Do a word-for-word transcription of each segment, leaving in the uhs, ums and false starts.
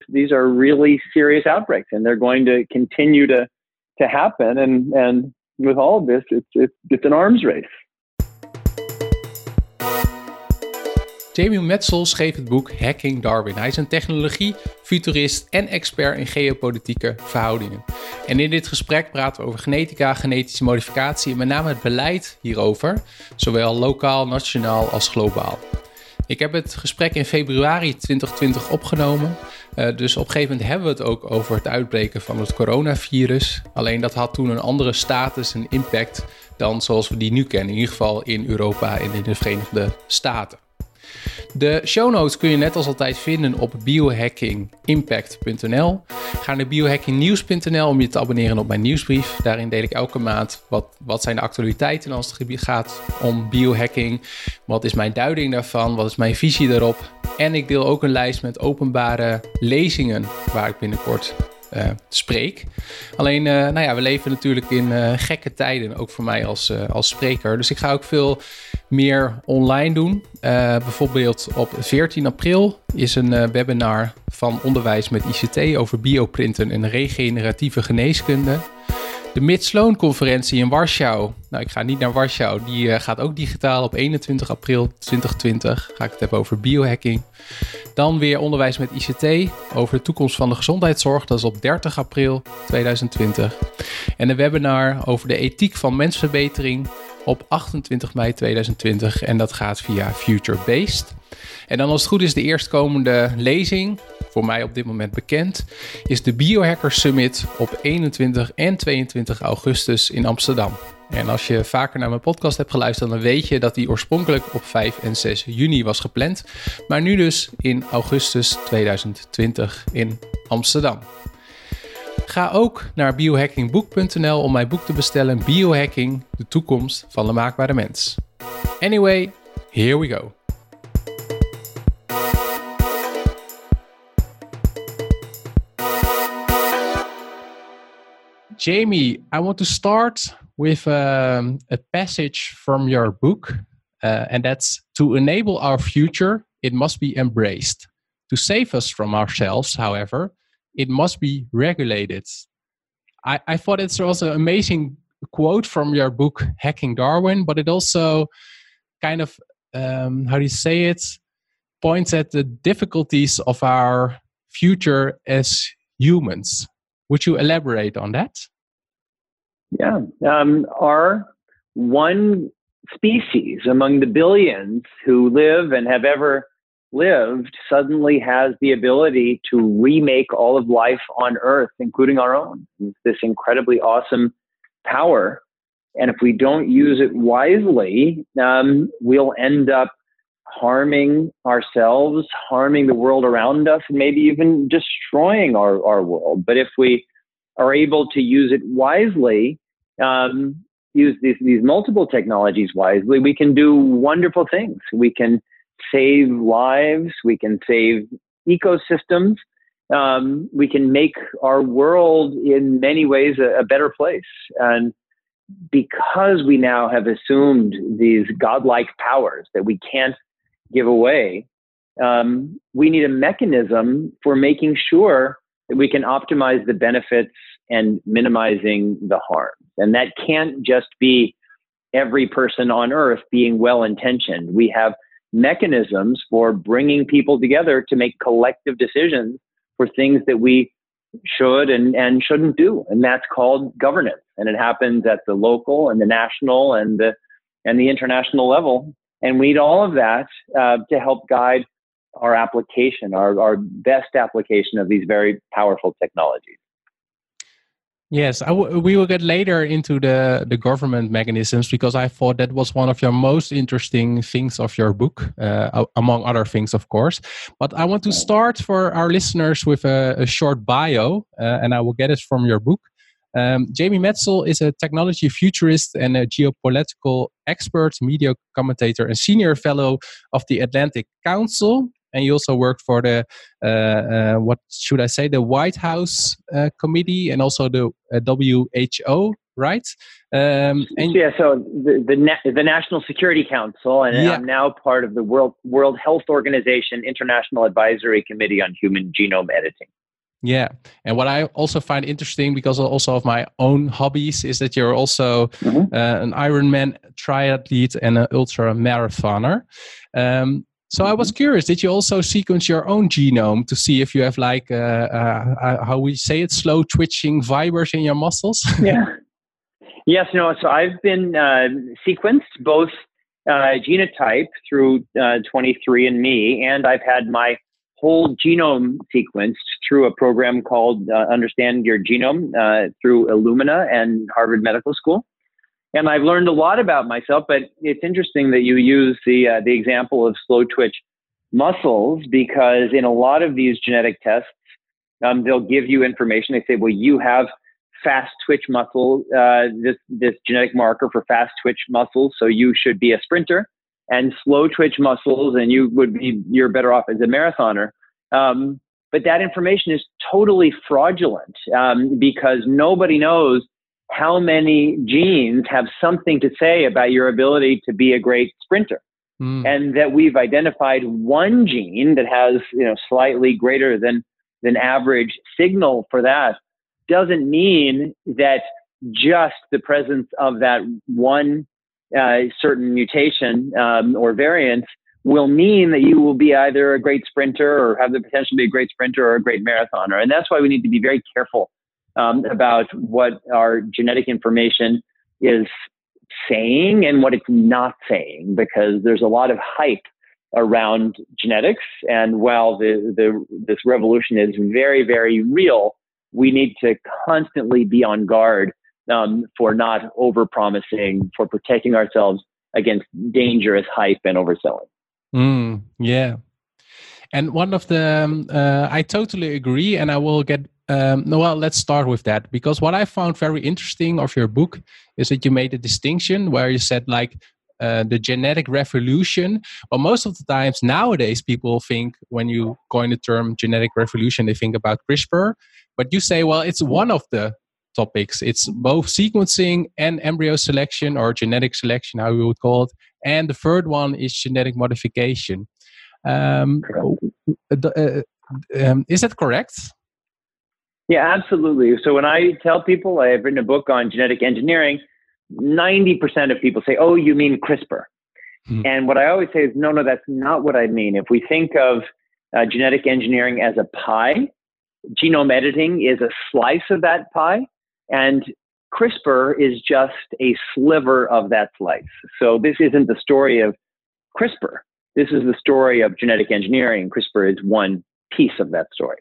these are really serious outbreaks, and they're going to continue to to happen. And and with all of this, it's it's, it's an arms race. Jamie Metzl schreef het boek Hacking Darwin. Hij is een technologie, futurist en expert in geopolitieke verhoudingen. En in dit gesprek praten we over genetica, genetische modificatie en met name het beleid hierover, zowel lokaal, nationaal als globaal. Ik heb het gesprek in februari twintig twintig opgenomen. Uh, dus op een gegeven moment hebben we het ook over het uitbreken van het coronavirus. Alleen dat had toen een andere status en impact dan zoals we die nu kennen. In ieder geval in Europa en in de Verenigde Staten. De show notes kun je net als altijd vinden op biohacking impact punt n l. Ga naar biohacking nieuws punt n l om je te abonneren op mijn nieuwsbrief. Daarin deel ik elke maand wat, wat zijn de actualiteiten als het gebied gaat om biohacking. Wat is mijn duiding daarvan? Wat is mijn visie daarop? En ik deel ook een lijst met openbare lezingen waar ik binnenkort uh, spreek. Alleen, uh, nou ja, we leven natuurlijk in uh, gekke tijden, ook voor mij als, uh, als spreker. Dus ik ga ook veel meer online doen. Uh, bijvoorbeeld op veertien april is een uh, webinar van Onderwijs met I C T over bioprinten en regeneratieve geneeskunde. De Mid-Sloan-conferentie in Warschau. Nou, ik ga niet naar Warschau. Die uh, gaat ook digitaal op eenentwintig april twintig twintig. Ga ik het hebben over biohacking. Dan weer Onderwijs met I C T over de toekomst van de gezondheidszorg. Dat is op dertig april tweeduizend twintig. En een webinar over de ethiek van mensverbetering op achtentwintig mei tweeduizend twintig. En dat gaat via Future Based. En dan als het goed is de eerstkomende lezing, voor mij op dit moment bekend, is de Biohacker Summit op eenentwintig en tweeëntwintig augustus in Amsterdam. En als je vaker naar mijn podcast hebt geluisterd, dan weet je dat die oorspronkelijk op vijf en zes juni was gepland. Maar nu dus in augustus tweeduizend twintig in Amsterdam. Ga ook naar biohackingboek punt n l om mijn boek te bestellen, Biohacking, de toekomst van de maakbare mens. Anyway, here we go. Jamie, I want to start with um, a passage from your book, uh, and that's to enable our future, it must be embraced. To save us from ourselves, however, it must be regulated. I, I thought it was an amazing quote from your book, Hacking Darwin, but it also kind of, um, how do you say it, points at the difficulties of our future as humans. Would you elaborate on that? Yeah. Um, our one species among the billions who live and have ever lived suddenly has the ability to remake all of life on Earth, including our own. It's this incredibly awesome power. And if we don't use it wisely, um, we'll end up harming ourselves, harming the world around us, and maybe even destroying our, our world. But if we are able to use it wisely, um, use these, these multiple technologies wisely, we can do wonderful things. We can save lives, we can save ecosystems, um, we can make our world in many ways a, a better place. And because we now have assumed these godlike powers that we can't give away, um, we need a mechanism for making sure that we can optimize the benefits and minimizing the harm. And that can't just be every person on Earth being well-intentioned. We have mechanisms for bringing people together to make collective decisions for things that we should and, and shouldn't do. And that's called governance. And it happens at the local and the national and the, and the international level. And we need all of that uh, to help guide our application, our, our best application of these very powerful technologies. Yes, I w- we will get later into the, the government mechanisms, because I thought that was one of your most interesting things of your book, uh, among other things, of course. But I want to start for our listeners with a, a short bio, uh, and I will get it from your book. Um, Jamie Metzl is a technology futurist and a geopolitical expert, media commentator, and senior fellow of the Atlantic Council. And you also worked for the, uh, uh, what should I say, the White House uh, Committee, and also the uh, W H O right? Um, and yeah, so the the, Na- the National Security Council, and yeah. I'm now part of the World World Health Organization International Advisory Committee on Human Genome Editing. Yeah. And what I also find interesting, because also of my own hobbies, is that you're also mm-hmm. uh, an Ironman triathlete and an ultra marathoner. Um, so mm-hmm. I was curious, did you also sequence your own genome to see if you have like, uh, uh, how we say it, slow twitching fibers in your muscles? Yeah. Yes, no. So I've been uh, sequenced both uh, genotype through uh, twenty-three and me, and I've had my whole genome sequenced through a program called uh, Understand Your Genome uh, through Illumina and Harvard Medical School. And I've learned a lot about myself, but it's interesting that you use the uh, the example of slow twitch muscles, because in a lot of these genetic tests, um, they'll give you information. They say, well, you have fast twitch muscle, uh, this, this genetic marker for fast twitch muscles, so you should be a sprinter. And slow twitch muscles, and you would be, you're better off as a marathoner. Um, but that information is totally fraudulent um, because nobody knows how many genes have something to say about your ability to be a great sprinter. Mm. And that we've identified one gene that has, you know, slightly greater than, than average signal for that doesn't mean that just the presence of that one Uh, certain mutation um, or variant will mean that you will be either a great sprinter or have the potential to be a great sprinter or a great marathoner. And that's why we need to be very careful um, about what our genetic information is saying and what it's not saying, because there's a lot of hype around genetics. And while the, the this revolution is very, very real, we need to constantly be on guard Um, for not over-promising, for protecting ourselves against dangerous hype and overselling. Mm, yeah. And one of the, um, uh, I totally agree, and I will get, um, no, well, let's start with that, because what I found very interesting of your book is that you made a distinction where you said like, uh, the genetic revolution. Well, most of the times nowadays, people think when you coin the term genetic revolution, they think about CRISPR, but you say, well, it's one of the topics. It's both sequencing and embryo selection, or genetic selection, how we would call it. And the third one is genetic modification. Um, uh, um, is that correct? Yeah, absolutely. So when I tell people I've written a book on genetic engineering, ninety percent of people say, oh, you mean CRISPR. Hmm. And what I always say is, no, no, that's not what I mean. If we think of uh, genetic engineering as a pie, genome editing is a slice of that pie. And CRISPR is just a sliver of that slice. So this isn't the story of CRISPR. This is the story of genetic engineering. CRISPR is one piece of that story.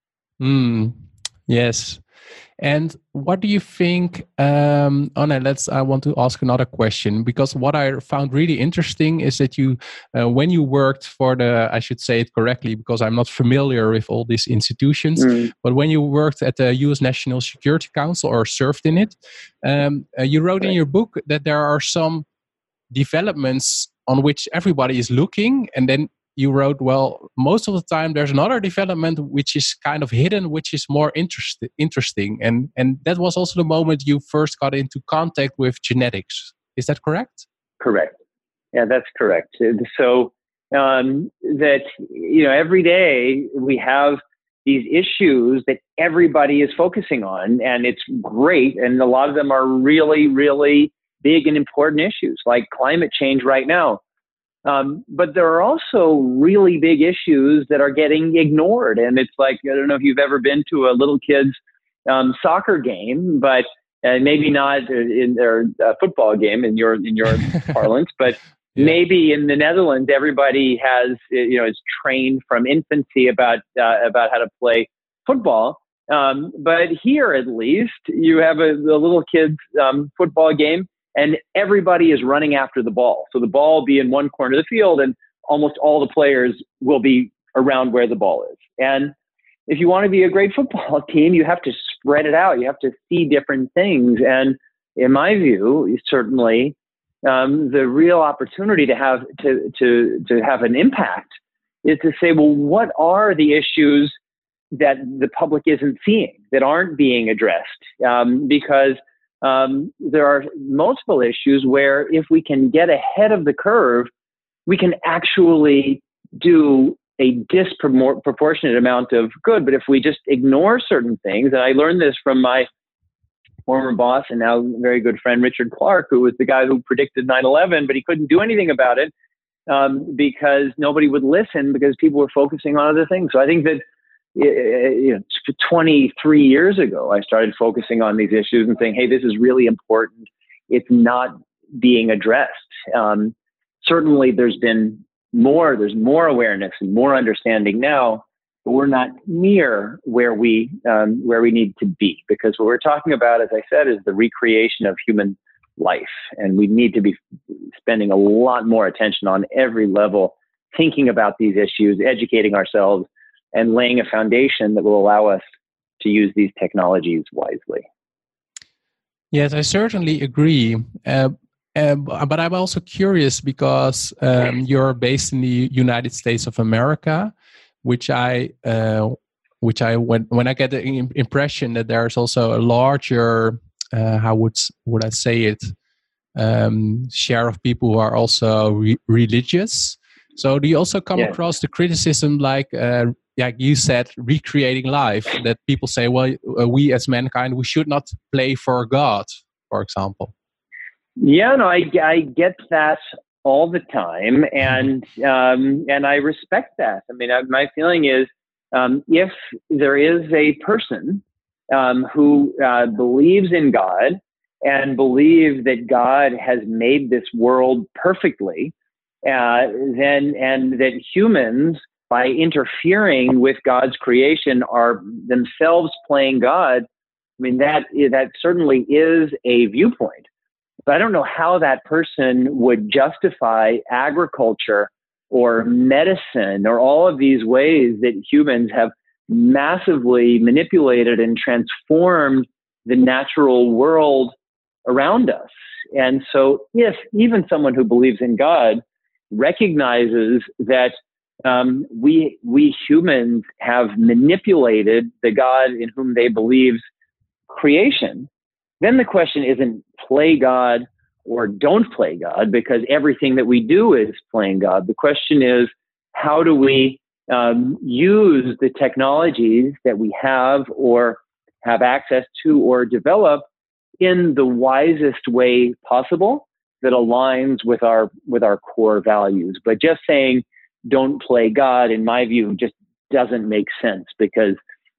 Mm, yes. And what do you think, um, oh no, let's, I want to ask another question, because what I found really interesting is that you, uh, when you worked for the, I should say it correctly, because I'm not familiar with all these institutions, mm. but when you worked at the U S National Security Council or served in it, um, uh, you wrote right. in your book that there are some developments on which everybody is looking, and then you wrote, well, most of the time there's another development which is kind of hidden, which is more interest, interesting. And, and that was also the moment you first got into contact with genetics. Is that correct? Correct. Yeah, that's correct. So um, that, you know, every day we have these issues that everybody is focusing on, and it's great. And a lot of them are really, really big and important issues, like climate change right now. Um, but there are also really big issues that are getting ignored. And it's like, I don't know if you've ever been to a little kid's um, soccer game, but uh, maybe not in their uh, football game in your in your parlance, but yeah. maybe in the Netherlands, everybody has, you know, is trained from infancy about uh, about how to play football. Um, but here, at least, you have a, a little kid's um, football game, and everybody is running after the ball. So the ball will be in one corner of the field, and almost all the players will be around where the ball is. And if you want to be a great football team, you have to spread it out. You have to see different things. And in my view, certainly, um, the real opportunity to have to to to have an impact is to say, well, what are the issues that the public isn't seeing, that aren't being addressed? Um, because um, there are multiple issues where if we can get ahead of the curve, we can actually do a disproportionate amount of good. But if we just ignore certain things, and I learned this from my former boss and now very good friend, Richard Clark, who was the guy who predicted nine eleven, but he couldn't do anything about it um, because nobody would listen because people were focusing on other things. So I think that you know, twenty-three years ago, I started focusing on these issues and saying, hey, this is really important. It's not being addressed. Um, certainly there's been more, there's more awareness and more understanding now, but we're not near where we, um, where we need to be, because what we're talking about, as I said, is the recreation of human life. And we need to be spending a lot more attention on every level, thinking about these issues, educating ourselves, and laying a foundation that will allow us to use these technologies wisely. Yes, I certainly agree. Uh, uh, but I'm also curious because um, you're based in the United States of America, which I, uh, which I when when I get the impression that there's also a larger, uh, how would would I say it, um, share of people who are also re- religious. So do you also come yeah. across the criticism, like uh, like you said, recreating life, that people say, well, uh, we as mankind, we should not play for God, for example? Yeah, no, I, I get that all the time, and um, and I respect that. I mean, I, my feeling is, um, if there is a person um, who uh, believes in God and believes that God has made this world perfectly, uh, then and that humans, by interfering with God's creation, are themselves playing God, I mean, that that certainly is a viewpoint. But I don't know how that person would justify agriculture or medicine or all of these ways that humans have massively manipulated and transformed the natural world around us. And so if even someone who believes in God recognizes that um, we we humans have manipulated the God in whom they believe's creation, then the question isn't play God or don't play God, because everything that we do is playing God. The question is, how do we um, use the technologies that we have or have access to or develop in the wisest way possible that aligns with our with our core values? But just saying don't play God, in my view, just doesn't make sense, because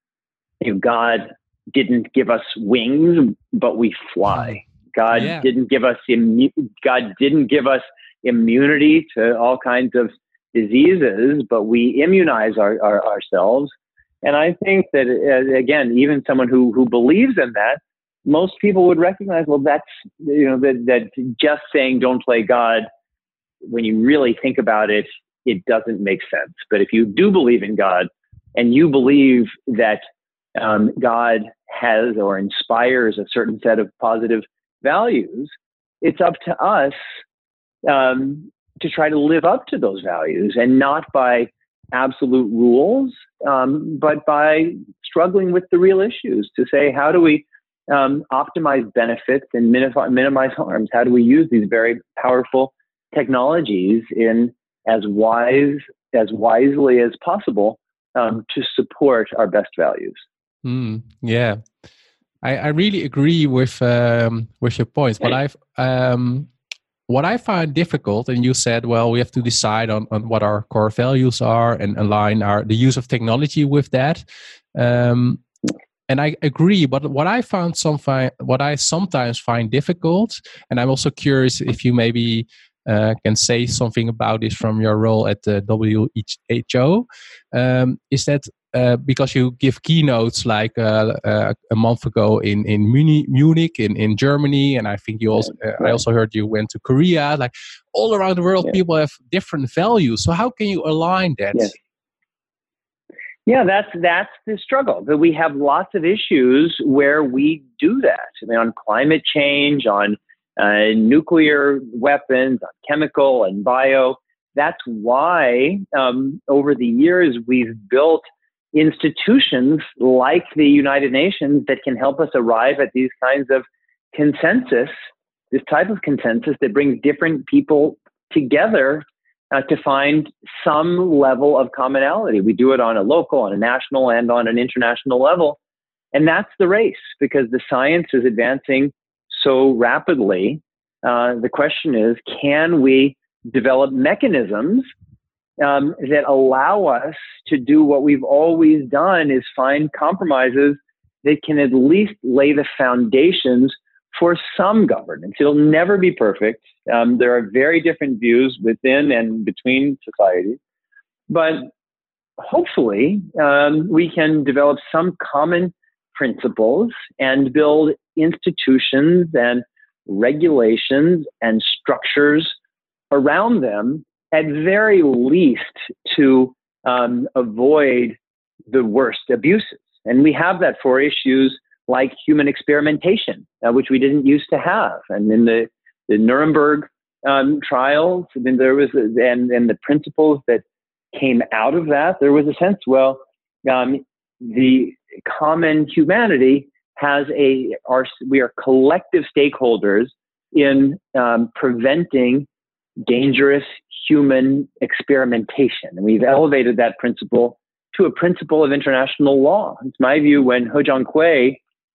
you know, God didn't give us wings, but we fly. God yeah. didn't give us immu- God didn't give us immunity to all kinds of diseases, but we immunize our, our, ourselves. And I think that uh, again, even someone who who believes in that, most people would recognize, well, that's you know that that just saying don't play God, when you really think about it, it doesn't make sense. But if you do believe in God, and you believe that um, God has or inspires a certain set of positive values, it's up to us um, to try to live up to those values, and not by absolute rules, um, but by struggling with the real issues to say, how do we um, optimize benefits and minif- minimize harms? How do we use these very powerful technologies in as wise as wisely as possible um, to support our best values? Mm, yeah, I, I really agree with um, with your points. But I've um, what I find difficult, and you said, well, we have to decide on, on what our core values are and align our the use of technology with that. Um, and I agree, but what I found some fi- what I sometimes find difficult, and I'm also curious if you maybe uh, can say something about this from your role at the W H O, um, is that uh, because you give keynotes like uh, uh, a month ago in in Munich, Munich in, in Germany, and I think you also uh, I also heard you went to Korea. Like all around the world, yeah. people have different values. So how can you align that? Yeah. Yeah, that's that's the struggle. That we have lots of issues where we do that. I mean, on climate change, on uh, nuclear weapons, on chemical and bio. That's why um, over the years we've built institutions like the United Nations that can help us arrive at these kinds of consensus, this type of consensus that brings different people together uh, to find some level of commonality. We do it on a local, on a national, and on an international level. And that's the race, because the science is advancing so rapidly. Uh, the question is, can we develop mechanisms um, that allow us to do what we've always done, is find compromises that can at least lay the foundations for some governance. It'll never be perfect. Um, there are very different views within and between societies, but hopefully um, we can develop some common principles and build institutions and regulations and structures around them, at very least to um, avoid the worst abuses. And we have that for issues like human experimentation, uh, which we didn't used to have. And in the, the Nuremberg um, trials, I mean, there was, a, and, and the principles that came out of that, there was a sense, well, um, the common humanity has a, our, we are collective stakeholders in um, preventing dangerous human experimentation. And we've elevated that principle to a principle of international law. It's my view, when He Jiankui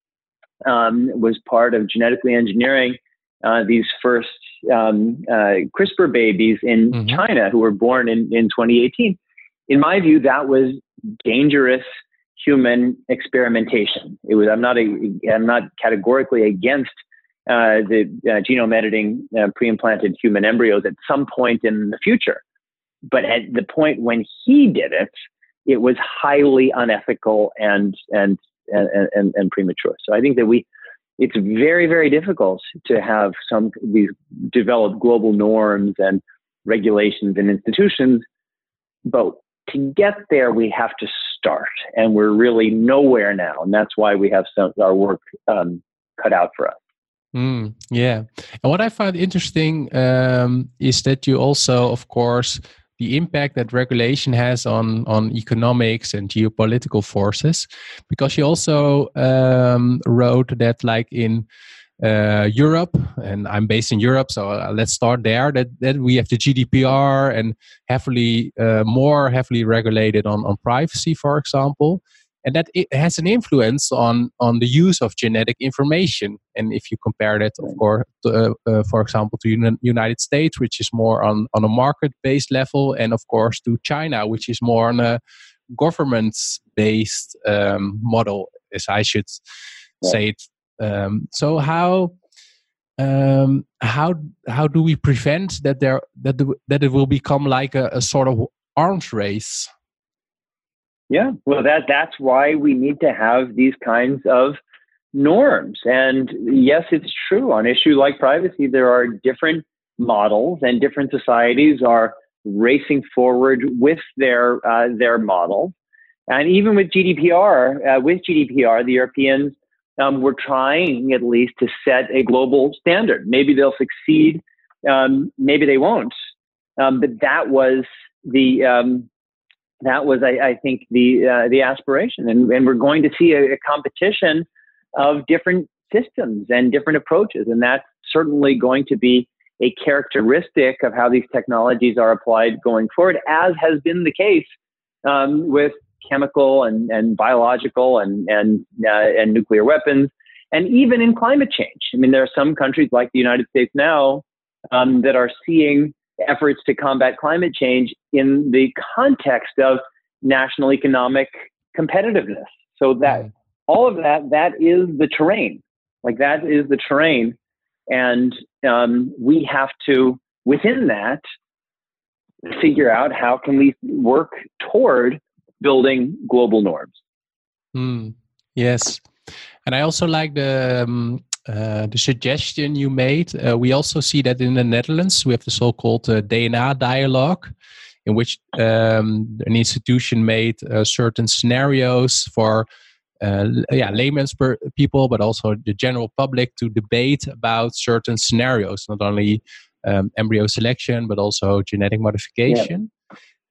um, was part of genetically engineering uh, these first um, uh, CRISPR babies in mm-hmm. China, who were born in, in twenty eighteen, in my view, that was dangerous human experimentation. It was. I'm not. A, I'm not categorically against uh, the uh, genome editing uh, pre-implanted human embryos at some point in the future, but at the point when he did it, it was highly unethical and and and and, and premature. So I think that we. It's very, very difficult to have some these developed global norms and regulations and institutions, but to get there, we have to start, and we're really nowhere now, and that's why we have some our work um, cut out for us. Mm, yeah, and what I find interesting um, is that you also, of course, the impact that regulation has on on economics and geopolitical forces, because you also um, wrote that, like in uh, Europe, and I'm based in Europe, so uh, let's start there. That that we have the G D P R and heavily uh, more heavily regulated on on privacy, for example, and that it has an influence on on the use of genetic information. And if you compare that, of course, to, uh, uh, for example, to the United States, which is more on on a market-based level, and of course to China, which is more on a government-based um, model, as I should yeah. say it. Um, so how um, how how do we prevent that there that the, that it will become like a, a sort of arms race? Yeah, well, that that's why we need to have these kinds of norms. And yes, it's true. On issue like privacy, there are different models, and different societies are racing forward with their uh, their models. And even with G D P R, uh, with G D P R, the Europeans um, were trying at least to set a global standard. Maybe they'll succeed, um, maybe they won't. Um, but that was the um, That was, I, I think, the uh, the aspiration, and, and we're going to see a, a competition of different systems and different approaches, and that's certainly going to be a characteristic of how these technologies are applied going forward, as has been the case um, with chemical and, and biological and and uh, and nuclear weapons, and even in climate change. I mean, there are some countries like the United States now um, that are seeing efforts to combat climate change in the context of national economic competitiveness. So that all of that, that is the terrain. Like that is the terrain. And um, we have to, within that, figure out how can we work toward building global norms. Mm, yes. And I also like the um, uh, the suggestion you made. Uh, we also see that in the Netherlands, we have the so-called uh, D N A dialogue, in which um, an institution made uh, certain scenarios for uh, yeah, layman's per- people, but also the general public to debate about certain scenarios, not only um, embryo selection, but also genetic modification. Yeah.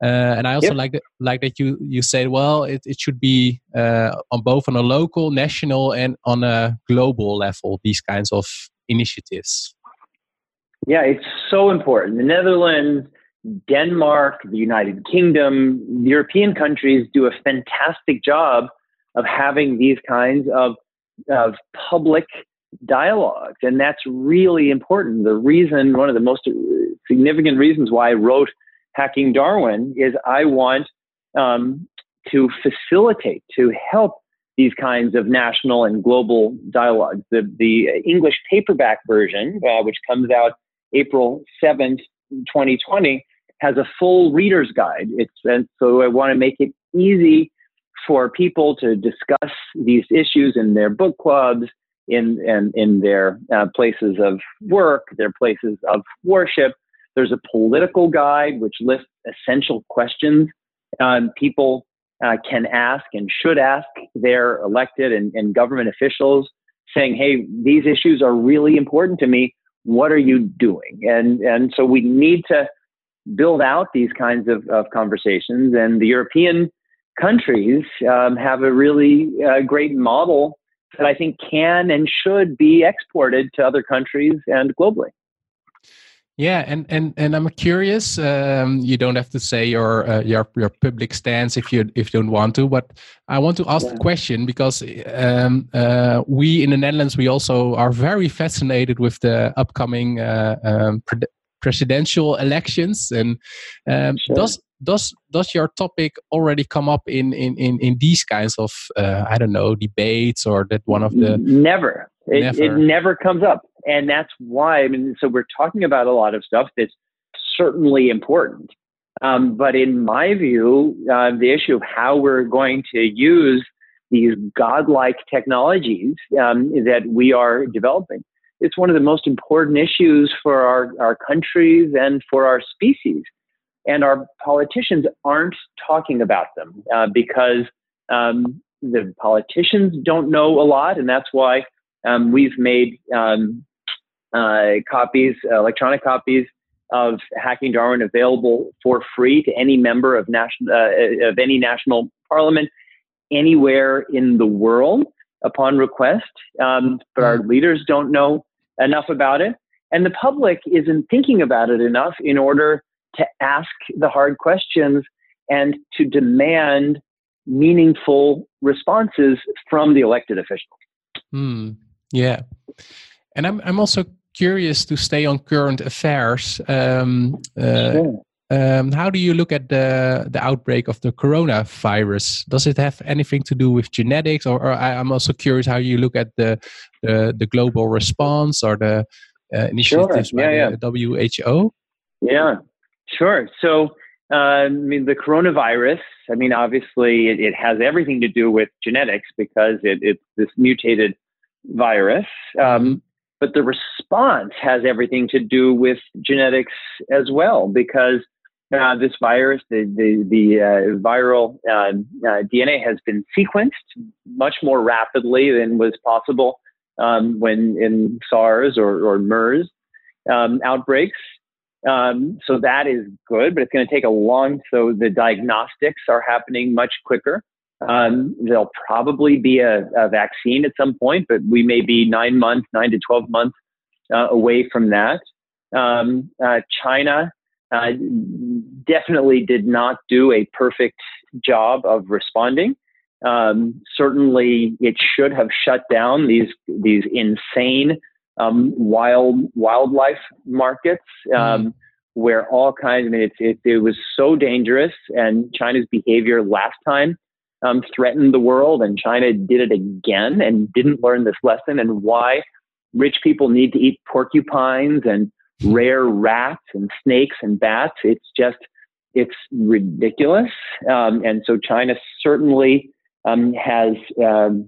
Uh, and I also Yep. like that, like that you you said, well, it, it should be uh, on both on a local, national, and on a global level. These kinds of initiatives. Yeah, it's so important. The Netherlands, Denmark, the United Kingdom, European countries do a fantastic job of having these kinds of of public dialogues, and that's really important. The reason, one of the most significant reasons why I wrote Hacking Darwin is I want um, to facilitate, to help these kinds of national and global dialogues. The, the English paperback version, uh, which comes out April seventh, twenty twenty, has a full reader's guide. It's, and so I want to make it easy for people to discuss these issues in their book clubs, in, in, in their uh, places of work, their places of worship. There's a political guide which lists essential questions um, people uh, can ask and should ask their elected and, and government officials, saying, hey, these issues are really important to me. What are you doing? And, and so we need to build out these kinds of, of conversations. And the European countries um, have a really uh, great model that I think can and should be exported to other countries and globally. Yeah, and and and I'm curious. Um, you don't have to say your uh, your your public stance if you if you don't want to, but I want to ask yeah. the question because um, uh, we in the Netherlands we also are very fascinated with the upcoming uh, um, pre- presidential elections. And um, sure. does does does your topic already come up in in in, in these kinds of uh, I don't know debates, or that one of the never it never, it never comes up. And that's why, I mean, so we're talking about a lot of stuff that's certainly important. Um, but in my view, uh, the issue of how we're going to use these godlike technologies um, that we are developing, it's one of the most important issues for our, our countries and for our species. And our politicians aren't talking about them uh, because um, the politicians don't know a lot. And that's why um, we've made um, Uh, copies, uh, electronic copies of Hacking Darwin available for free to any member of national uh, of any national parliament anywhere in the world upon request. Um, but our leaders don't know enough about it, and the public isn't thinking about it enough in order to ask the hard questions and to demand meaningful responses from the elected officials. Mm, yeah, and I'm I'm also curious to stay on current affairs. Um, uh, sure. um, how do you look at the the outbreak of the coronavirus? Does it have anything to do with genetics, or, or I, I'm also curious how you look at the the, the global response or the uh, initiatives sure. yeah, by yeah. the W H O? Yeah, sure. So, uh, I mean, the coronavirus. I mean, obviously, it, it has everything to do with genetics because it, it's this mutated virus. Um, mm-hmm. But the response has everything to do with genetics as well, because uh, this virus, the the, the uh, viral uh, uh, D N A has been sequenced much more rapidly than was possible um, when in SARS or, or MERS um, outbreaks. Um, so that is good, but it's going to take a long. So the diagnostics are happening much quicker. Um, there'll probably be a, a vaccine at some point, but we may be nine months, nine to twelve months uh, away from that. Um, uh, China uh, definitely did not do a perfect job of responding. Um, certainly, it should have shut down these these insane um, wild wildlife markets um, mm. where all kinds. I mean, it, it, it was so dangerous, and China's behavior last time Um, threatened the world, and China did it again and didn't learn this lesson, and why rich people need to eat porcupines and rare rats and snakes and bats. It's just, it's ridiculous. Um, and so China certainly um, has um,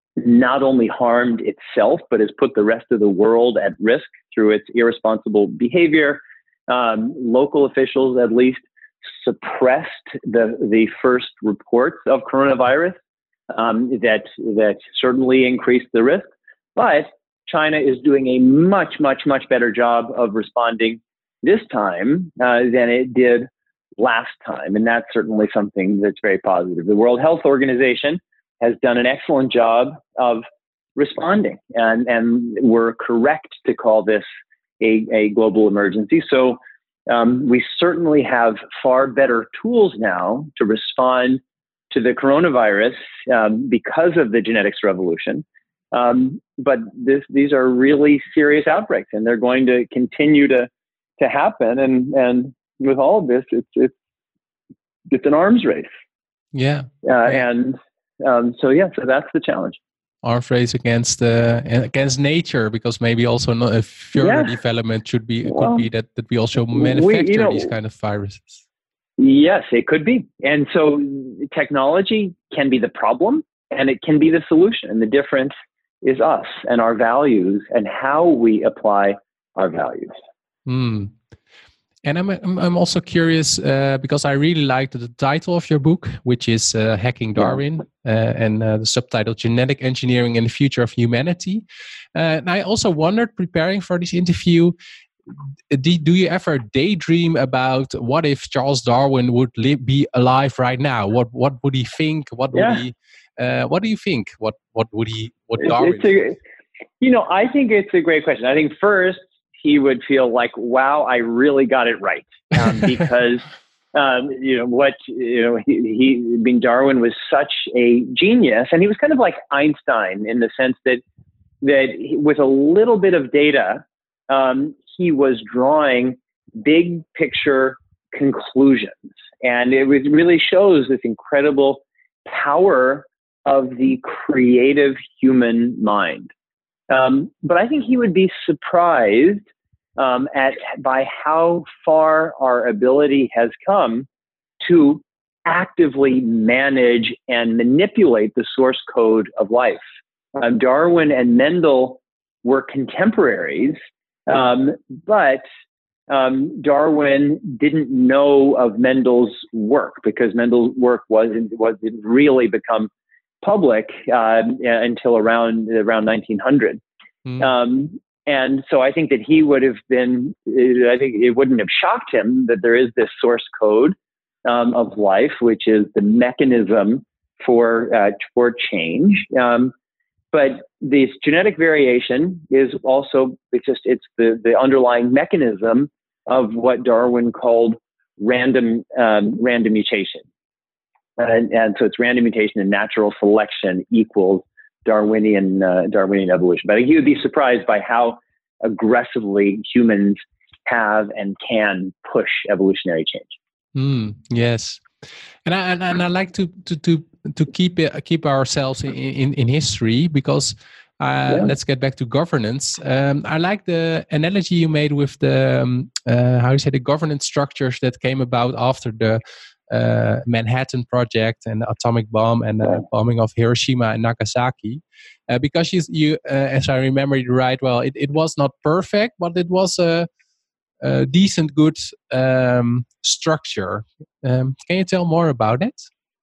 not only harmed itself, but has put the rest of the world at risk through its irresponsible behavior. Um, local officials, at least, suppressed the the first reports of coronavirus um, that that certainly increased the risk, but China is doing a much much much better job of responding this time uh, than it did last time. And that's certainly something that's very positive. The World Health Organization has done an excellent job of responding, and, and we're correct to call this a, a global emergency. So um, we certainly have far better tools now to respond to the coronavirus um, because of the genetics revolution. Um, but this, these are really serious outbreaks, and they're going to continue to to happen. And and with all of this, it's it's it's an arms race. Yeah, uh, yeah. and um, so yeah, so that's the challenge. Arms race against uh, against nature, because maybe also not a further Yeah. development should be Well, could be that that we also manufacture we, you know, these kind of viruses. Yes, it could be. And so technology can be the problem, and it can be the solution. And the difference is us and our values and how we apply our values. Mm. And I'm, I'm I'm also curious uh, because I really liked the title of your book, which is uh, Hacking Darwin, uh, and uh, the subtitle Genetic Engineering and the Future of Humanity. Uh, and I also wondered, preparing for this interview, do, do you ever daydream about what if Charles Darwin would li- be alive right now? What what would he think? What would Yeah. he? Uh, what do you think? What what would he? What It's, Darwin? it's a, you know, I think it's a great question. I think first he would feel like, wow, I really got it right. Um, because, um, you know, what, you know, he, he, I mean, Darwin was such a genius, and he was kind of like Einstein in the sense that, that he, with a little bit of data, um, he was drawing big picture conclusions. And it was, really shows this incredible power of the creative human mind. Um, but I think he would be surprised um, at by how far our ability has come to actively manage and manipulate the source code of life. Um, Darwin and Mendel were contemporaries, um, but um, Darwin didn't know of Mendel's work because Mendel's work wasn't wasn't really become public uh, until around around nineteen hundred. Mm. Um, and so I think that he would have been, I think it wouldn't have shocked him that there is this source code um, of life, which is the mechanism for, uh, for change. Um, but this genetic variation is also, it's just, it's the, the underlying mechanism of what Darwin called random, um, random mutation. And, and so it's random mutation and natural selection equals Darwinian uh, Darwinian evolution. But I think he would be surprised by how aggressively humans have and can push evolutionary change. Mm, yes, and I and, and I like to to to to keep it, keep ourselves in, in, in history, because uh, yeah. Let's get back to governance. Um, I like the analogy you made with the um, uh, how you say the governance structures that came about after the Uh, Manhattan Project and the atomic bomb and the uh, bombing of Hiroshima and Nagasaki, uh, because you, you uh, as I remember it right, well, it, it was not perfect, but it was a, a decent, good um, structure. Um, can you tell more about it?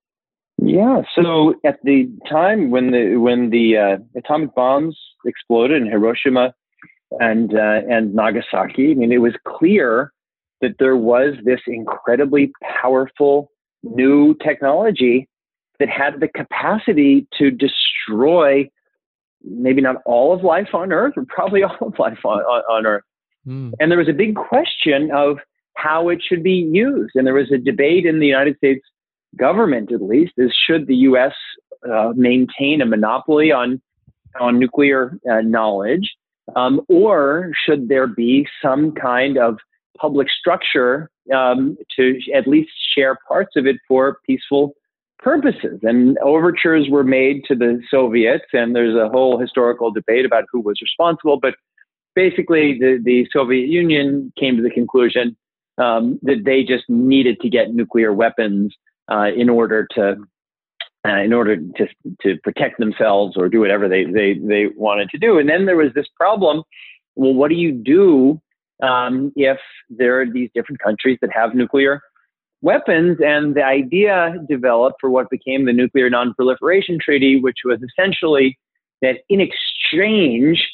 Yeah. So at the time when the when the uh, atomic bombs exploded in Hiroshima and uh, and Nagasaki, I mean, it was clear that there was this incredibly powerful new technology that had the capacity to destroy maybe not all of life on Earth, but probably all of life on, on, on Earth. Mm. And there was a big question of how it should be used. And there was a debate in the United States government, at least, is should the U S uh, maintain a monopoly on, on nuclear uh, knowledge, um, or should there be some kind of public structure um, to at least share parts of it for peaceful purposes. And overtures were made to the Soviets, and there's a whole historical debate about who was responsible. But basically, the, the Soviet Union came to the conclusion um, that they just needed to get nuclear weapons uh, in order to uh, in order to to protect themselves or do whatever they they they wanted to do. And then there was this problem. Well, what do you do Um, if there are these different countries that have nuclear weapons? And the idea developed for what became the Nuclear Non-Proliferation Treaty, which was essentially that in exchange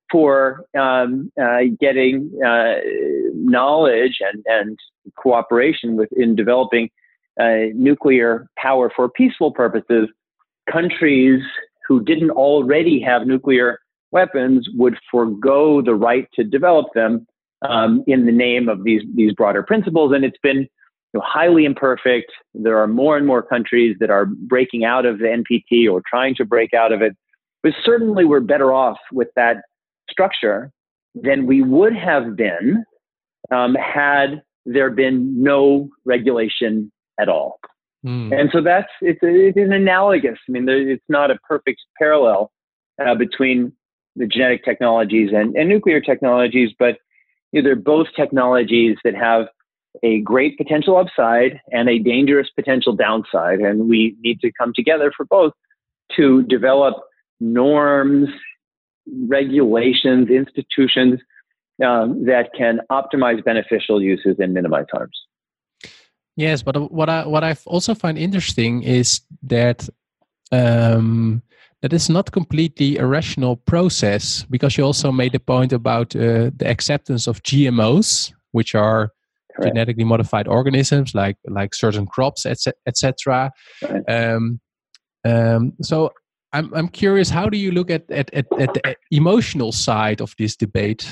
for um, uh, getting uh, knowledge and, and cooperation with in developing uh, nuclear power for peaceful purposes, countries who didn't already have nuclear weapons would forego the right to develop them um, in the name of these these broader principles. And it's been, you know, highly imperfect. There are more and more countries that are breaking out of the N P T or trying to break out of it. But certainly we're better off with that structure than we would have been um, had there been no regulation at all. Mm. And so that's, it's, it's an analogous. I mean, there, it's not a perfect parallel uh, between the genetic technologies and, and nuclear technologies, but you know, they're both technologies that have a great potential upside and a dangerous potential downside. And we need to come together for both to develop norms, regulations, institutions um, that can optimize beneficial uses and minimize harms. Yes, but what I what I also find interesting is that um, that is not completely a rational process, because you also made the point about uh, the acceptance of G M Os, which are Correct. Genetically modified organisms, like like certain crops, et cetera. Right. Um, um, so I'm I'm curious, how do you look at at, at at the emotional side of this debate?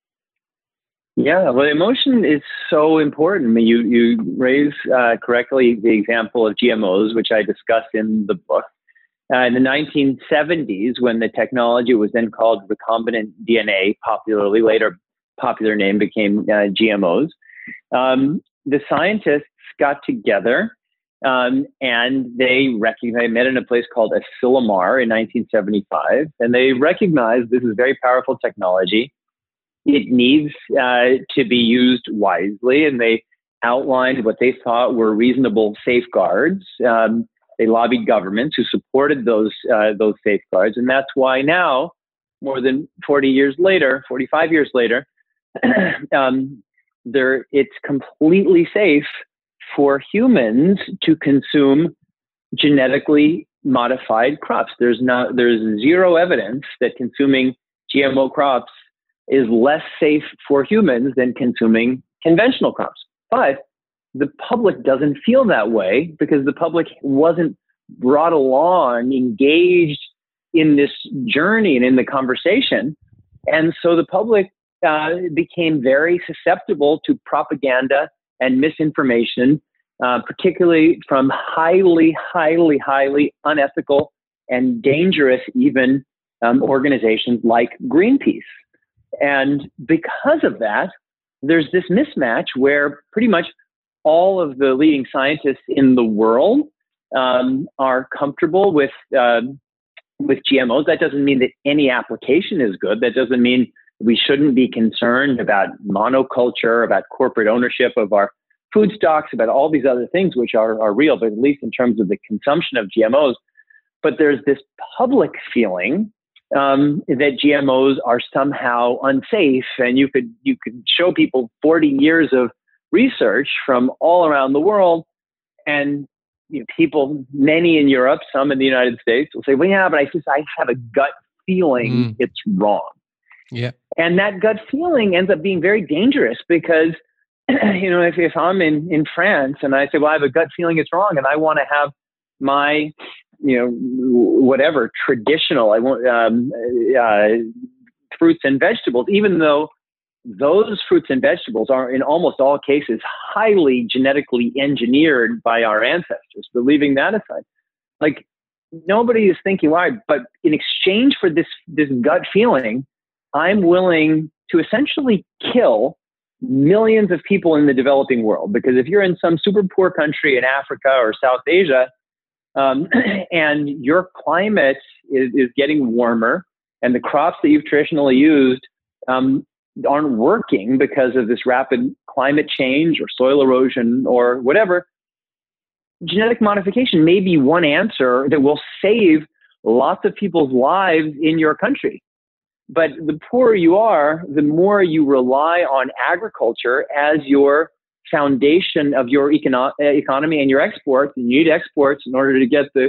Yeah, well, emotion is so important. I mean, you you raise uh, correctly the example of G M Os, which I discuss in the book. Uh, in the nineteen seventies, when the technology was then called recombinant D N A, popularly later popular name became uh, G M Os. Um, the scientists got together um, and they recognized, they met in a place called Asilomar in nineteen seventy-five, and they recognized this is very powerful technology. It needs uh, to be used wisely, and they outlined what they thought were reasonable safeguards. Um, they lobbied governments who supported those uh, those safeguards, and that's why now, more than forty years later, forty-five years later, um, there it's completely safe for humans to consume genetically modified crops. There's not there's zero evidence that consuming G M O crops is less safe for humans than consuming conventional crops. But the public doesn't feel that way because the public wasn't brought along, engaged in this journey and in the conversation. And so the public uh, became very susceptible to propaganda and misinformation, uh, particularly from highly, highly, highly unethical and dangerous even um, organizations like Greenpeace. And because of that, there's this mismatch where pretty much all of the leading scientists in the world um, are comfortable with um, with G M Os. That doesn't mean that any application is good. That doesn't mean we shouldn't be concerned about monoculture, about corporate ownership of our food stocks, about all these other things which are, are real, but at least in terms of the consumption of G M Os. But there's this public feeling Um, that G M Os are somehow unsafe, and you could you could show people forty years of research from all around the world, and you know, people, many in Europe, some in the United States, will say, "Well, yeah, but I just I have a gut feeling mm. it's wrong." Yeah, and that gut feeling ends up being very dangerous because you know if if I'm in in France and I say, "Well, I have a gut feeling it's wrong," and I want to have my you know, whatever traditional, I want um, uh, fruits and vegetables, even though those fruits and vegetables are in almost all cases highly genetically engineered by our ancestors. But leaving that aside, like nobody is thinking, why? But in exchange for this this gut feeling, I'm willing to essentially kill millions of people in the developing world. Because if you're in some super poor country in Africa or South Asia, Um, and your climate is, is getting warmer, and the crops that you've traditionally used um, aren't working because of this rapid climate change or soil erosion or whatever, genetic modification may be one answer that will save lots of people's lives in your country. But the poorer you are, the more you rely on agriculture as your foundation of your econo- economy and your exports, and you need exports in order to get the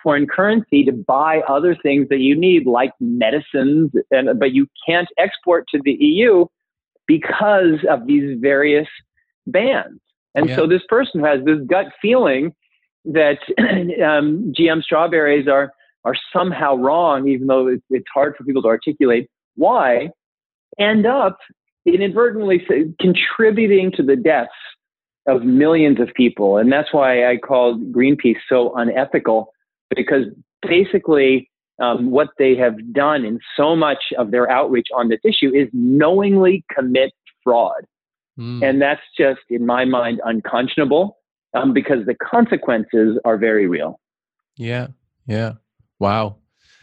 foreign currency to buy other things that you need, like medicines, and but you can't export to the E U because of these various bans. And yeah. so this person who has this gut feeling that um, G M strawberries are are somehow wrong, even though it's, it's hard for people to articulate why, end up inadvertently contributing to the deaths of millions of people. And that's why I called Greenpeace so unethical, because basically um, what they have done in so much of their outreach on this issue is knowingly commit fraud. Mm. And that's just, in my mind, unconscionable um, because the consequences are very real. Yeah, yeah. Wow.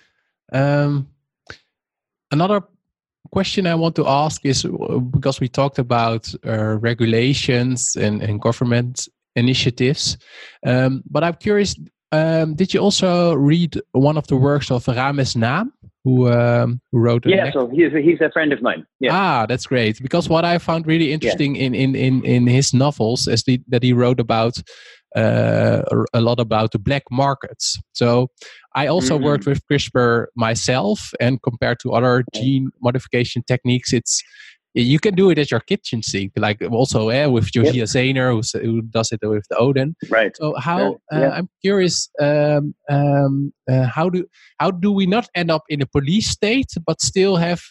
Um, another question I want to ask is, because we talked about uh, regulations and, and government initiatives, um, but I'm curious, um, did you also read one of the works of Rames Naam, who, um, who wrote Yeah, next- so he's a, he's a friend of mine. Yeah. Ah, that's great. Because what I found really interesting yeah. in, in, in, in his novels is the, that he wrote about uh, a lot about the black markets. So I also mm-hmm. worked with CRISPR myself, and compared to other gene modification techniques, it's you can do it at your kitchen sink, like also eh, with Josiah yep. Zahner, who, who does it with the Odin. Right. So how yeah. uh, I'm curious, um, um, uh, how do how do we not end up in a police state, but still have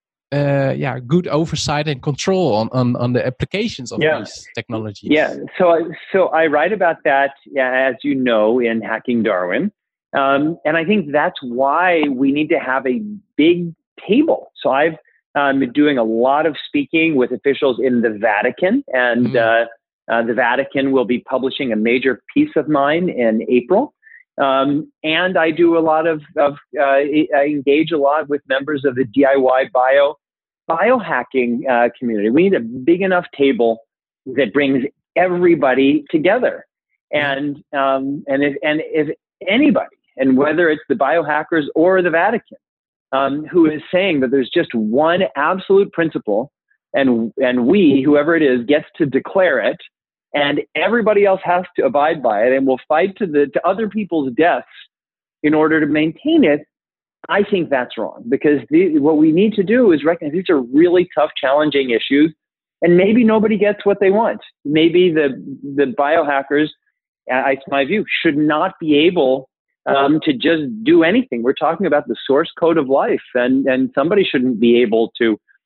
uh, yeah good oversight and control on on, on the applications of yeah. these technologies? Yeah. So so I write about that, yeah, as you know, in Hacking Darwin. Um, and I think that's why we need to have a big table. So I've um, been doing a lot of speaking with officials in the Vatican, and mm. uh, uh, the Vatican will be publishing a major piece of mine in April. Um, and I do a lot of, of uh, I engage a lot with members of the D I Y bio biohacking uh, community. We need a big enough table that brings everybody together. And um, and if and if anybody, and whether it's the biohackers or the Vatican, um, who is saying that there's just one absolute principle, and and we, whoever it is, gets to declare it, and everybody else has to abide by it, and will fight to the to other people's deaths in order to maintain it, I think that's wrong. Because the, what we need to do is recognize these are really tough, challenging issues, and maybe nobody gets what they want. Maybe the the biohackers, uh, it's my view, should not be able Um, to just do anything. We're talking about the source code of life, and, and somebody shouldn't be able to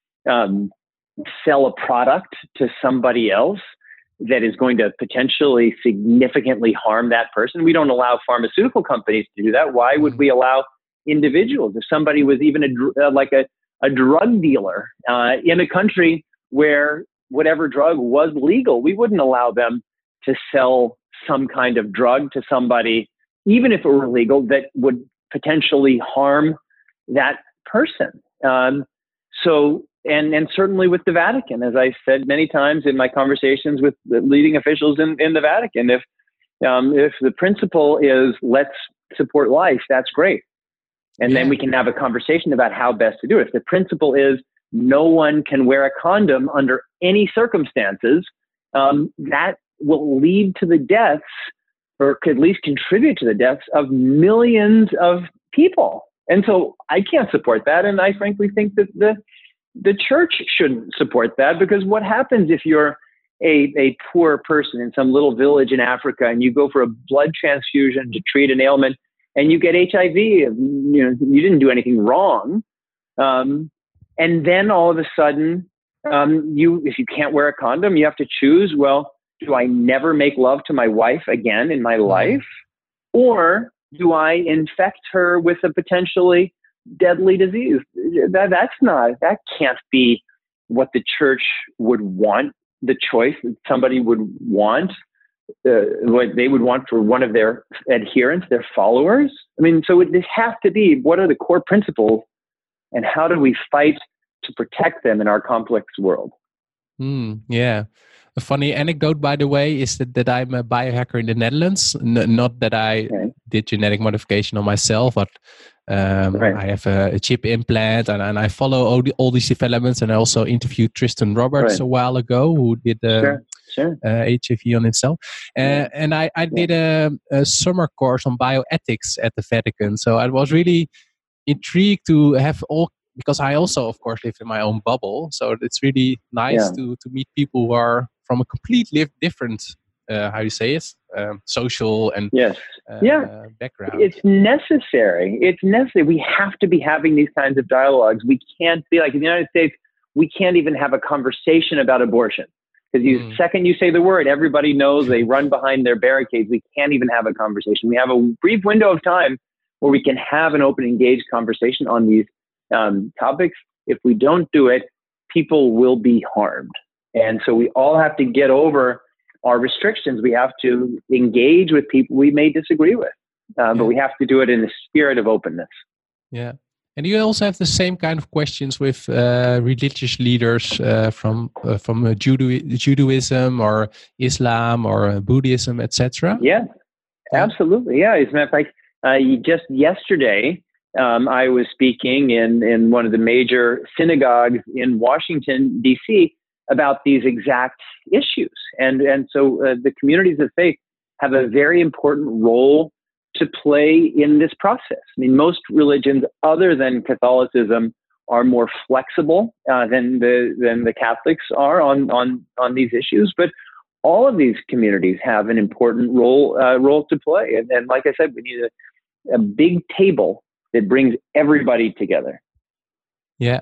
um, sell a product to somebody else that is going to potentially significantly harm that person. We don't allow pharmaceutical companies to do that. Why would we allow individuals? If somebody was even a, uh, like a, a drug dealer uh, in a country where whatever drug was legal, we wouldn't allow them to sell some kind of drug to somebody, even if it were legal, that would potentially harm that person. Um, so, and and certainly with the Vatican, as I said many times in my conversations with the leading officials in, in the Vatican, if um, if the principle is let's support life, that's great. And yeah. then we can have a conversation about how best to do it. If the principle is no one can wear a condom under any circumstances, um, that will lead to the deaths, or could at least contribute to the deaths of millions of people. And so I can't support that. And I frankly think that the the church shouldn't support that, because what happens if you're a, a poor person in some little village in Africa and you go for a blood transfusion to treat an ailment and you get H I V, you know, you didn't do anything wrong. Um, and then all of a sudden, um, you if you can't wear a condom, you have to choose, well, do I never make love to my wife again in my life? Or do I infect her with a potentially deadly disease? That, that's not, that can't be what the church would want, the choice that somebody would want, uh, what they would want for one of their adherents, their followers. I mean, so it, this has to be, what are the core principles and how do we fight to protect them in our complex world? Mm, yeah. A funny anecdote, by the way, is that, that I'm a biohacker in the Netherlands. N- not that I okay. did genetic modification on myself, but um, right. I have a, a chip implant, and, and I follow all, the, all these developments. And I also interviewed Tristan Roberts right. a while ago, who did uh, sure. Sure. uh, H I V on itself. Uh, Yeah. and I, I Yeah. did a, a summer course on bioethics at the Vatican. So I was really intrigued to have all, because I also, of course, live in my own bubble. So it's really nice Yeah. to, to meet people who are from a completely different, uh, how you say it, um, social and Yes. uh, Yeah. background. It's necessary. It's necessary. We have to be having these kinds of dialogues. We can't be like in the United States, we can't even have a conversation about abortion. Because you, mm. second you say the word, everybody knows, they run behind their barricades. We can't even have a conversation. We have a brief window of time where we can have an open, engaged conversation on these um, topics. If we don't do it, people will be harmed. And so we all have to get over our restrictions. We have to engage with people we may disagree with, uh, yeah. but we have to do it in the spirit of openness. Yeah. And you also have the same kind of questions with uh, religious leaders uh, from uh, from uh, Judo- Judaism or Islam or uh, Buddhism, et cetera. Yeah, absolutely. Yeah, as a matter of fact, uh, just yesterday um, I was speaking in in one of the major synagogues in Washington D C about these exact issues, and and so uh, the communities of faith have a very important role to play in this process. I mean, most religions other than Catholicism are more flexible uh, than the than the Catholics are on on on these issues, but all of these communities have an important role uh, role to play. And, and like I said, we need a, a big table that brings everybody together. Yeah,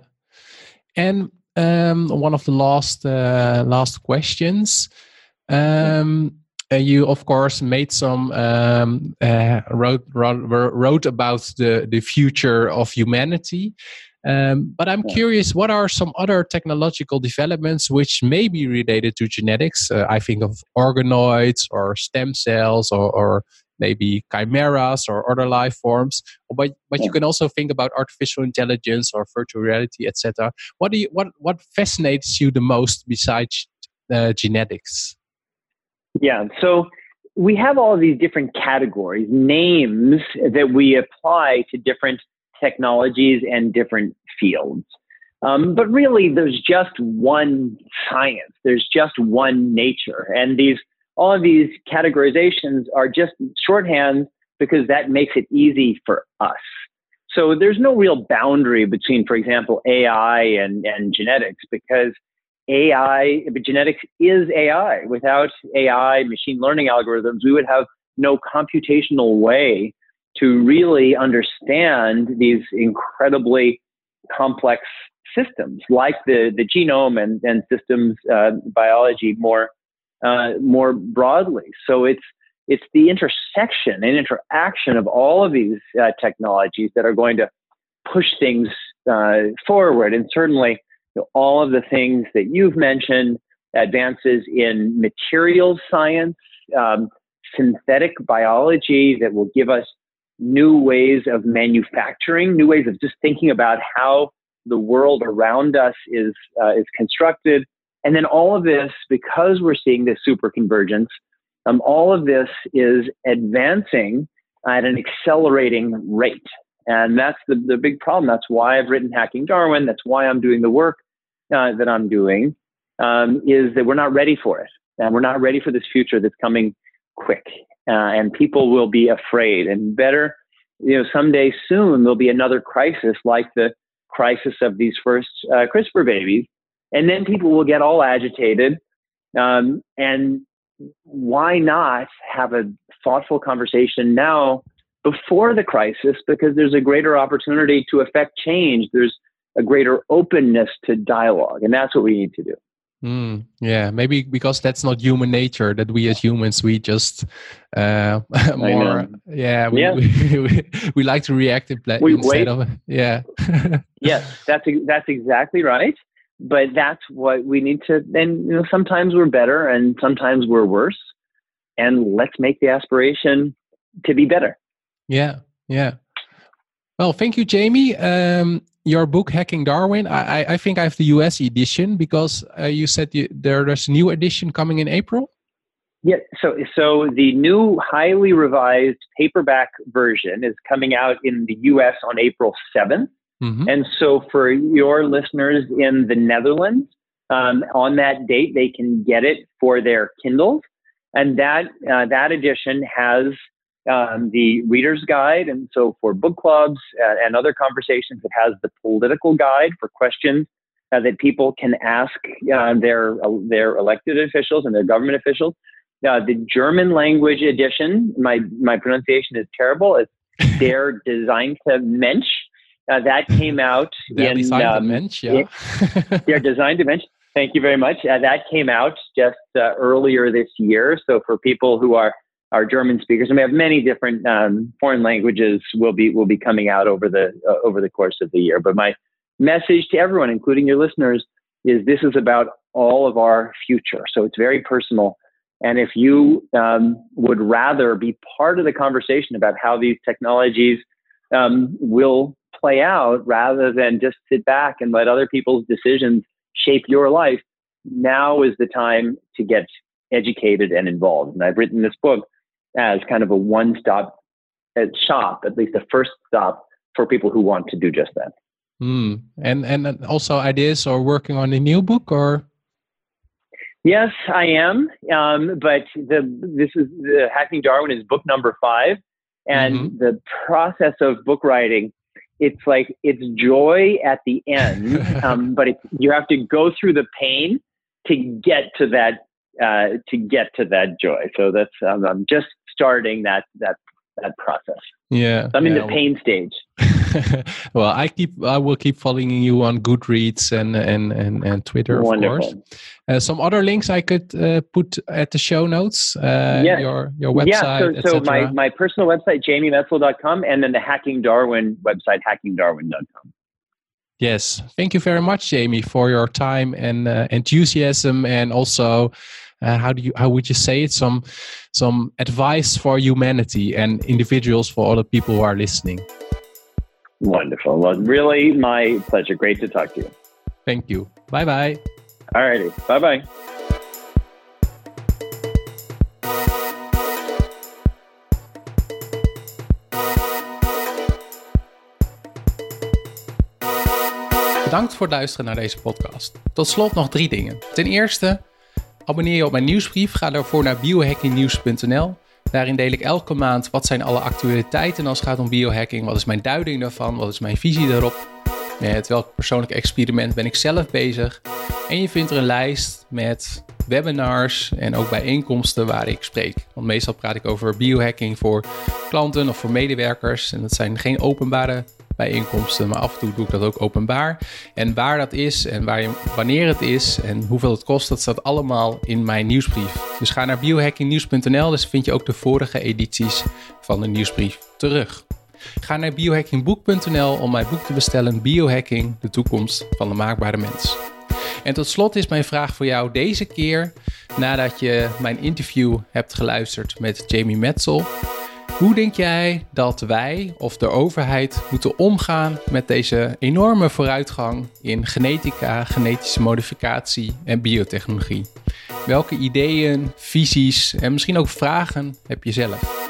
and um, one of the last uh, last questions. Um, yeah. Uh, you, of course, made some um, uh, wrote, wrote wrote about the the future of humanity. Um, but I'm yeah. curious, what are some other technological developments which may be related to genetics? Uh, I think of organoids or stem cells or, or maybe chimeras or other life forms. But but yeah. you can also think about artificial intelligence or virtual reality, et cetera. What do you what what fascinates you the most besides uh, genetics? Yeah, so we have all of these different categories, names that we apply to different technologies and different fields. Um, but really, there's just one science. There's just one nature. And these all of these categorizations are just shorthand because that makes it easy for us. So there's no real boundary between, for example, A I and, and genetics, because A I, but genetics is A I. Without A I, machine learning algorithms, we would have no computational way to really understand these incredibly complex systems, like the, the genome and, and systems uh, biology more uh, more broadly. So it's it's the intersection and interaction of all of these uh, technologies that are going to push things uh, forward. And certainly, all of the things that you've mentioned, advances in materials science, um, synthetic biology that will give us new ways of manufacturing, new ways of just thinking about how the world around us is uh, is constructed. And then all of this, because we're seeing this superconvergence, um, all of this is advancing at an accelerating rate. And that's the, the big problem. That's why I've written Hacking Darwin. That's why I'm doing the work uh, that I'm doing, um, is that we're not ready for it. And we're not ready for this future that's coming quick. Uh, and people will be afraid. And better, you know, someday soon, there'll be another crisis like the crisis of these first uh, CRISPR babies. And then people will get all agitated. Um, and why not have a thoughtful conversation now before the crisis, because there's a greater opportunity to affect change. There's a greater openness to dialogue, and that's what we need to do. Mm, yeah, maybe because that's not human nature, that we as humans, we just uh, more, yeah, we, yeah. We, we, we like to react in pla- we instead wait. of, yeah. Yes, that's that's exactly right. But that's what we need to, and you know, sometimes we're better and sometimes we're worse. And let's make the aspiration to be better. Yeah, yeah. Well, thank you, Jamie. Um, your book, Hacking Darwin, I, I think I have the U S edition because uh, you said you, there, there's a new edition coming in April. Yeah, so so the new highly revised paperback version is coming out in the U S on April seventh. Mm-hmm. And so for your listeners in the Netherlands, um, on that date, they can get it for their Kindles. And that uh, that edition has um, the reader's guide. And so for book clubs uh, and other conversations, it has the political guide for questions uh, that people can ask uh, their, uh, their elected officials and their government officials. Uh, the German language edition, my, my pronunciation is terrible. It's Der Designte Mensch. Uh, that came out Der in... Designte um, Mensch, yeah. Der Designte Mensch. Thank you very much. Uh, that came out just uh, earlier this year. So for people who are, are German speakers, and we have many different um, foreign languages will be will be coming out over the uh, over the course of the year. But my message to everyone, including your listeners, is this is about all of our future. So it's very personal. And if you um, would rather be part of the conversation about how these technologies um, will play out, rather than just sit back and let other people's decisions shape your life, now is the time to get educated and involved. And I've written this book as kind of a one-stop shop, at least a first stop for people who want to do just that. Mm. And and also ideas or working on a new book, or? Yes, I am. Um, but the this is the Hacking Darwin is book number five, and mm-hmm. the process of book writing, it's like it's joy at the end, um, but it, you have to go through the pain to get to that uh, to get to that joy. So that's um, I'm just starting that that that process. Yeah, I'm in yeah. the pain stage. Well, I keep I will keep following you on Goodreads and and and, and Twitter, of Wonderful. course. Uh, some other links I could uh, put at the show notes. Uh, yes. Your your website. Yeah. So, so my my personal website, jamie metzl dot com, and then the Hacking Darwin website, hacking darwin dot com. Yes. Thank you very much, Jamie, for your time and uh, enthusiasm, and also uh, how do you how would you say it? Some some advice for humanity and individuals, for all the people who are listening. Wonderful. Well, really my pleasure. Great to talk to you. Thank you. Bye bye. All righty. Bye bye. Bedankt voor het luisteren naar deze podcast. Tot slot nog drie dingen. Ten eerste, abonneer je op mijn nieuwsbrief. Ga daarvoor naar biohacking nieuws punt n l. Daarin deel ik elke maand wat zijn alle actualiteiten als het gaat om biohacking. Wat is mijn duiding daarvan? Wat is mijn visie daarop? Met welk persoonlijk experiment ben ik zelf bezig? En je vindt er een lijst met webinars en ook bijeenkomsten waar ik spreek. Want meestal praat ik over biohacking voor klanten of voor medewerkers. En dat zijn geen openbare bijeenkomsten, maar af en toe doe ik dat ook openbaar. En waar dat is en waar je, wanneer het is en hoeveel het kost, dat staat allemaal in mijn nieuwsbrief. Dus ga naar biohacking nieuws punt n l, dus vind je ook de vorige edities van de nieuwsbrief terug. Ga naar biohackingboek punt n l om mijn boek te bestellen, Biohacking, de toekomst van de maakbare mens. En tot slot is mijn vraag voor jou deze keer, nadat je mijn interview hebt geluisterd met Jamie Metzl. Hoe denk jij dat wij of de overheid moeten omgaan met deze enorme vooruitgang in genetica, genetische modificatie en biotechnologie? Welke ideeën, visies en misschien ook vragen heb je zelf?